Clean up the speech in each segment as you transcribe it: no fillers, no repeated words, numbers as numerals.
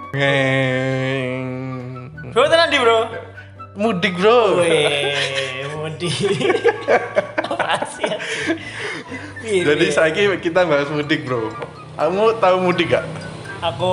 Ngeng. Bro tenan di bro. Mudik bro. Weh, mudik. Apa sih? Jadi saiki kita bahas mudik bro. Kamu tahu mudik gak? Aku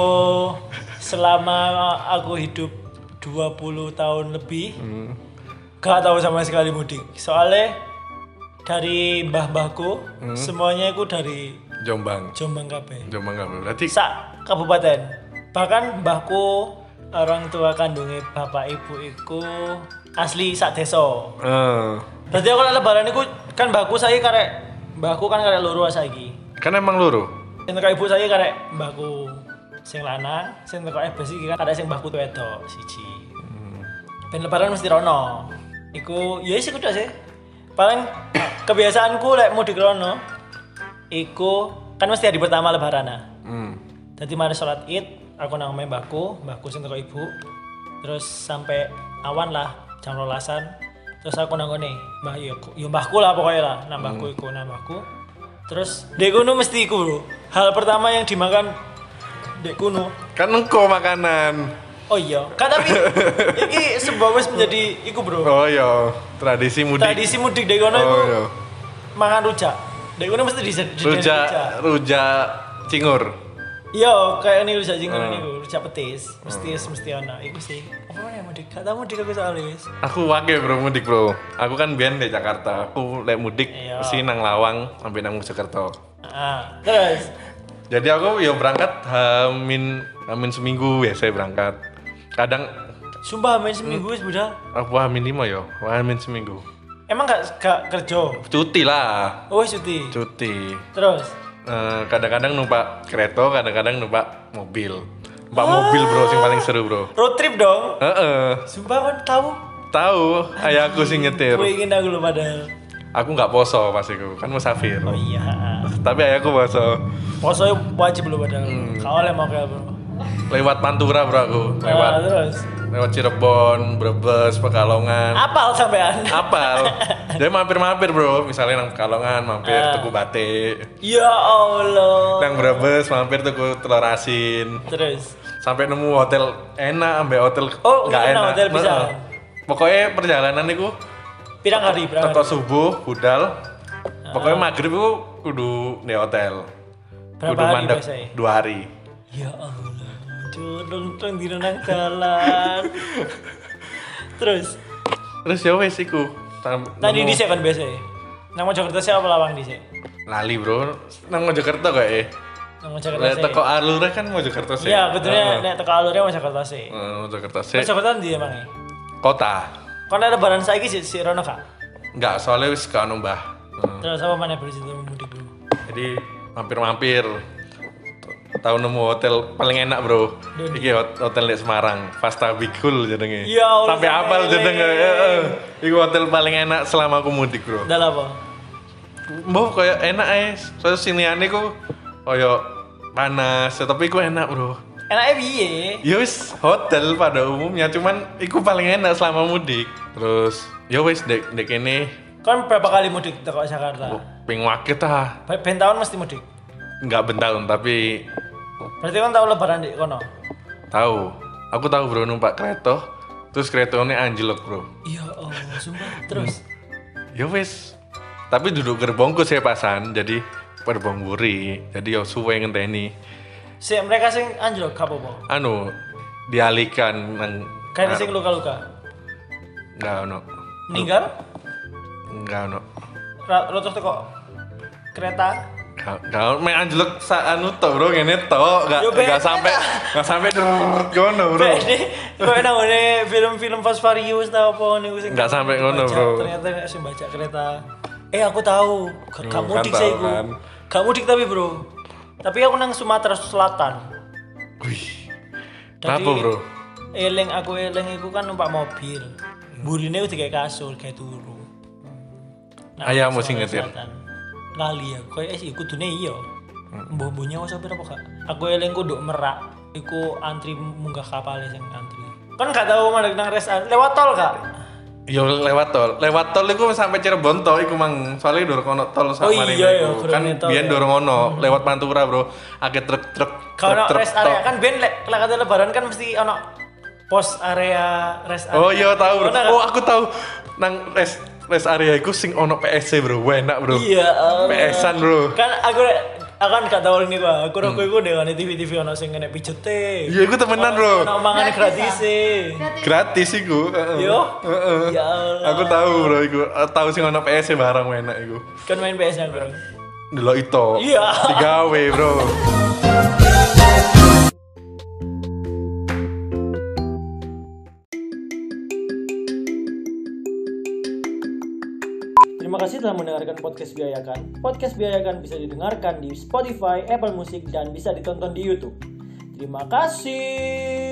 selama aku hidup 20 tahun lebih gak tahu sama sekali mudik. Soalnya dari mbah-mbahku semuanya itu dari Jombang. Jombang kabeh. Jombang gak bro? Berarti Sak kabupaten. Bahkan mbahku orang tua kandungnya bapak ibu iku asli sak desa. Berarti aku lebaran iku kan mbahku saya mbahku kan karek loro saiki. Kan emang loro. Sing teko ibu saya karek mbahku sing lanang, sing teko ebes iki kan karek sing mbahku tuh wedok siji. Ben lebaran mesti rono. Iku ya sih kudu sih. Paling kebiasaanku lek mudik rono iku kan mesti hari pertama lebaran. Jadi mari sholat Id, aku nang mbahku sing teko ibu. Terus sampai awan lah jam 12-an. Terus aku nang ngene, mbah yo mbahku lah pokoknya lah, nang mbahku iku nang mbahku. Terus dek kuno mesti iku bro. Hal pertama yang dimakan dek kuno Kan engko makanan. oh iya, kan tapi iki sebuah wis menjadi iku bro. Oh iya, tradisi mudik. Tradisi mudik dek kono iku iya. mangan rujak. Dek kono mesti Rujak cingur. Iya, kayak ini rujak cingur niku, rujak petis. Mesti ana iku sih. Apa namanya mudik? Gak tau mudik aku soalnya wis. Aku wake bro mudik bro. Aku kan biyen di Jakarta. Aku lek mudik Iya. mesti nang Lawang sampai nang Mojokerto. Terus Jadi aku ya berangkat hamin seminggu ya saya berangkat. Kadang sumpah main seminggu wis budal. aku hamin 5 ya, hamin seminggu. Emang gak kerja? Cuti lah, Oh, cuti. cuti. Terus Kadang-kadang numpak kereta, kadang-kadang numpak mobil. Numpak mobil bro, sing paling seru bro. road trip dong. Sumpah kan tahu. Tahu, ayahku sing nyetir. Gue ingin aku lu padahal. Aku nggak poso pas itu, kan musafir. Oh iya. Tapi ayahku poso. Poso wajib lu padahal. Kau oleh mau kayak bro. Lewat Pantura bro aku, Terus lewat Cirebon, Brebes, Pekalongan. apal sampean. Apal. Jadi mampir-mampir bro, misalnya nang Pekalongan mampir tuku batik. Ya Allah. Nang Brebes mampir tuku telur asin. Terus Sampai nemu hotel enak, sampai hotel Oh, nggak enak, enak. hotel bisa. Pokoknya perjalanan itu pirang hari teko subuh budal. Pokoknya maghrib itu kudu di hotel. Berapa Kudu hari mandek biasanya? 2 hari. Ya Allah. Nonton di nang jalan. Terus Terus ya wes iku. tadi di kan biasanya. Nang Mojokerto siapa lawang di sini? lali bro, nang Mojokerto kayak Nang Mojokerto Lek sih. teko alure kan Mojokerto sih. Iya, betulnya nek teko alurnya Mojokerto sih. Mojokerto sih. Mojokerto ndi emangnya? Kota. Kon ada lebaran saiki si Rono Kak. Enggak, soalnya wis gak ono mbah. Terus apa mana bercerita mudik dulu? Jadi mampir-mampir. Tahu nemu hotel paling enak bro. Iki hotel di Semarang, Vasta Bigul jenenge. Ya Allah, Sampai apal sampai jenenge. Iki hotel paling enak selama aku mudik bro. Udah apa? Mbah kayak enak soalnya siniane ku kayak panas, tapi ku enak bro. Enaknya piye? Ya wis hotel pada umumnya, cuman iku paling enak selama mudik. Terus ya wis dek kene Kon berapa kali mudik teko Jakarta? ping wake ta. Ben tahun mesti mudik. Enggak bentahun tapi Berarti kon tahu lebaran di kono? tahu. Aku tahu bro numpak kereta, terus keretanya anjlok bro. Ya Allah, sumpah. Terus Ya wis. Tapi duduk gerbongku saya pasan, jadi gerbong buri. Jadi ya suwe ngenteni. mereka sing anjlok gak apa-apa. Anu dialihkan nang Kayak sing luka-luka. enggak ono. Meninggal? Enggak ono. Rotos teko kereta. Enggak main anjlok anu tok bro, ngene tok, Yo, enggak sampai ngono bro. Kok nang ngene film-film Fast Furious ta apa niku sing Nggak sampai ngono, bro. Ternyata nek sing baca kereta. Aku tahu, gak mudik kan sih tahu iku. kan. Gak mudik tapi bro. Tapi aku nang Sumatera Selatan. Wih. Jadi, Kenapa bro? Aku iku kan numpak mobil. Burine udah kayak kasur, kayak turu. Ayahmu sing Sumatera nyetir? Selatan. Lali aku kayak sih kudune iya. Mbah-mbahnya wis sopir apa kak? Aku eling nduk Merak, iku antri munggah kapal sing antri. Kan gak tahu mana nang rest lewat tol kak. Yo lewat tol iku sampai Cirebon to iku mang soalnya durung ono tol sak Oh marine iya, iku. ya, Kan durung tol, biyen ya. durung ono lewat Pantura bro, akeh truk-truk Kalau truk-truk rest area tok. kan ben lek kata lebaran kan mesti ono pos area rest area. Oh iya tahu bro. Ono kan? Oh aku tahu nang rest area iku sing ono PSC bro, enak bro. Iya. PS-an bro. Kan aku kan gak tau ini gua. Aku iku dengan TV-TV ono sing kena pijete. Iya iku temenan bro. Ono mangan gratis Gratis iku. Yo. Heeh. Ya Allah. Aku tahu bro iku, tahu sing ono PSC barang enak iku. Kan main PS nya bro. Delok itu. Iya. Digawe bro. Terima kasih telah mendengarkan podcast Biayakan. Podcast Biayakan bisa didengarkan di Spotify, Apple Music, dan bisa ditonton di YouTube. Terima kasih.